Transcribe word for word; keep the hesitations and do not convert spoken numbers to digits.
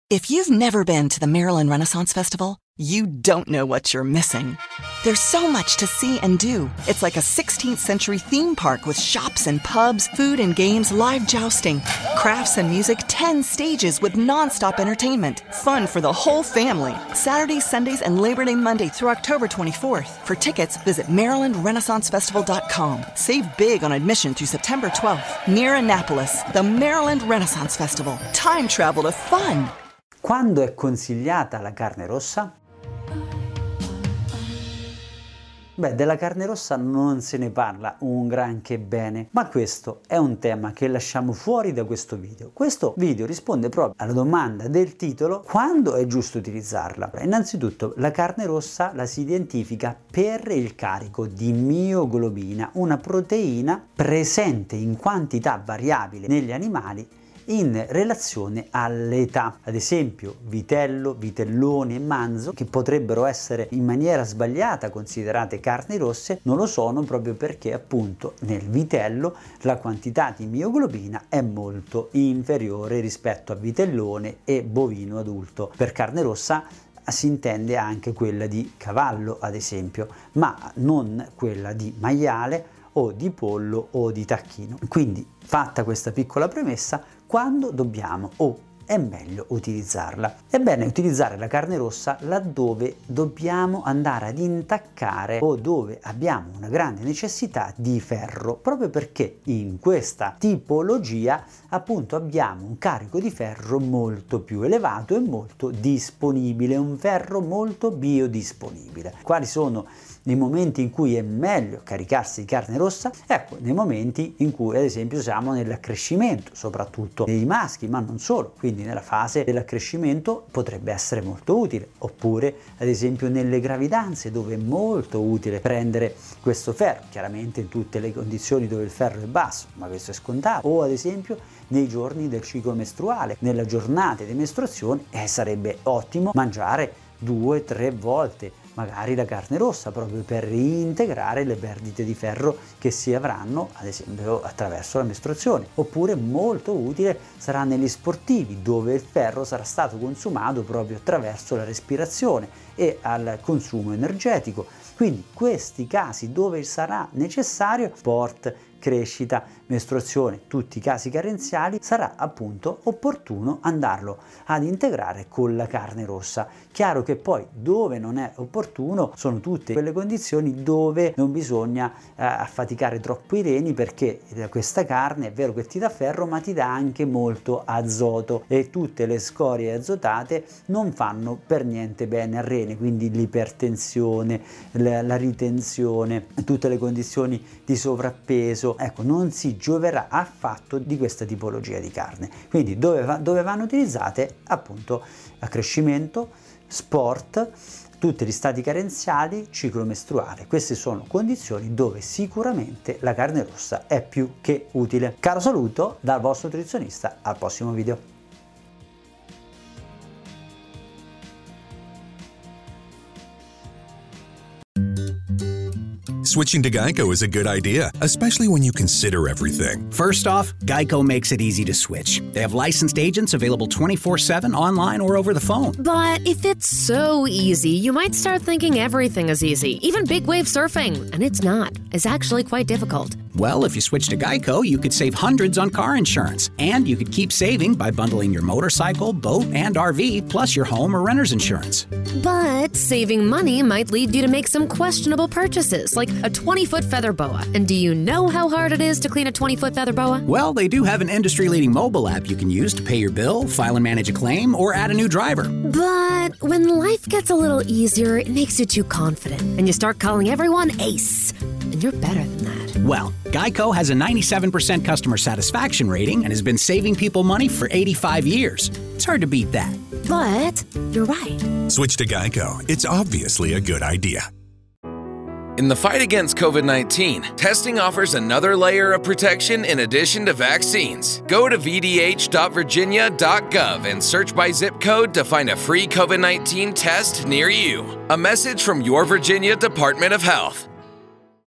If you've never been to the Maryland Renaissance Festival, you don't know what you're missing. There's so much to see and do. It's like a sixteenth century theme park with shops and pubs, food and games, live jousting, crafts and music, ten stages with nonstop entertainment. Fun for the whole family. Saturdays, Sundays, and Labor Day Monday through October twenty-fourth. For tickets, visit maryland renaissance festival dot com. Save big on admission through September twelfth. Near Annapolis, the Maryland Renaissance Festival. Time travel to fun. Quando è consigliata la carne rossa? Beh, della carne rossa non se ne parla un granché bene, ma questo è un tema che lasciamo fuori da questo video. Questo video risponde proprio alla domanda del titolo: quando è giusto utilizzarla? Innanzitutto, la carne rossa la si identifica per il carico di mioglobina, una proteina presente in quantità variabile negli animali in relazione all'età. Ad esempio vitello, vitellone e manzo, che potrebbero essere in maniera sbagliata considerate carni rosse, non lo sono proprio perché appunto nel vitello la quantità di mioglobina è molto inferiore rispetto a vitellone e bovino adulto. Per carne rossa si intende anche quella di cavallo, ad esempio, ma non quella di maiale o di pollo o di tacchino. Quindi, fatta questa piccola premessa, quando dobbiamo o è meglio utilizzarla? È bene utilizzare la carne rossa laddove dobbiamo andare ad intaccare o dove abbiamo una grande necessità di ferro, proprio perché in questa tipologia appunto abbiamo un carico di ferro molto più elevato e molto disponibile, un ferro molto biodisponibile. Quali sono i momenti in cui è meglio caricarsi di carne rossa? Ecco, nei momenti in cui ad esempio siamo nell'accrescimento, soprattutto dei maschi, ma non solo, quindi nella fase dell'accrescimento potrebbe essere molto utile, oppure ad esempio nelle gravidanze, dove è molto utile prendere questo ferro, chiaramente in tutte le condizioni dove il ferro è basso, ma questo è scontato, o ad esempio nei giorni del ciclo mestruale, nella giornata di mestruazione, eh, sarebbe ottimo mangiare due tre volte magari la carne rossa, proprio per reintegrare le perdite di ferro che si avranno ad esempio attraverso la mestruazione. Oppure molto utile sarà negli sportivi, dove il ferro sarà stato consumato proprio attraverso la respirazione e al consumo energetico. Quindi questi casi dove sarà necessario sport, crescita, mestruazione, tutti i casi carenziali, sarà appunto opportuno andarlo ad integrare con la carne rossa. Chiaro che poi dove non è opportuno sono tutte quelle condizioni dove non bisogna eh, affaticare troppo i reni, perché questa carne è vero che ti dà ferro, ma ti dà anche molto azoto e tutte le scorie azotate non fanno per niente bene al rene, quindi l'ipertensione, la, la ritenzione, tutte le condizioni di sovrappeso, ecco, non si gioverà affatto di questa tipologia di carne. Quindi dove, va, dove vanno utilizzate? Appunto accrescimento, sport, tutti gli stati carenziali, ciclo mestruale. Queste sono condizioni dove sicuramente la carne rossa è più che utile. Caro saluto dal vostro nutrizionista, al prossimo video. Switching to Geico is a good idea, especially when you consider everything. First off, Geico makes it easy to switch. They have licensed agents available twenty-four seven online or over the phone. But if it's so easy, you might start thinking everything is easy, even big wave surfing. And it's not. It's actually quite difficult. Well, if you switch to Geico, you could save hundreds on car insurance. And you could keep saving by bundling your motorcycle, boat, and R V, plus your home or renter's insurance. But saving money might lead you to make some questionable purchases, like a twenty-foot feather boa. And do you know how hard it is to clean a twenty-foot feather boa? Well, they do have an industry-leading mobile app you can use to pay your bill, file and manage a claim, or add a new driver. But when life gets a little easier, it makes you too confident, and you start calling everyone Ace. And you're better than that. Well, Geico has a ninety-seven percent customer satisfaction rating and has been saving people money for eighty-five years. It's hard to beat that. But you're right. Switch to Geico. It's obviously a good idea. In the fight against COVID nineteen, testing offers another layer of protection in addition to vaccines. Go to v d h dot virginia dot gov and search by zip code to find a free COVID nineteen test near you. A message from your Virginia Department of Health.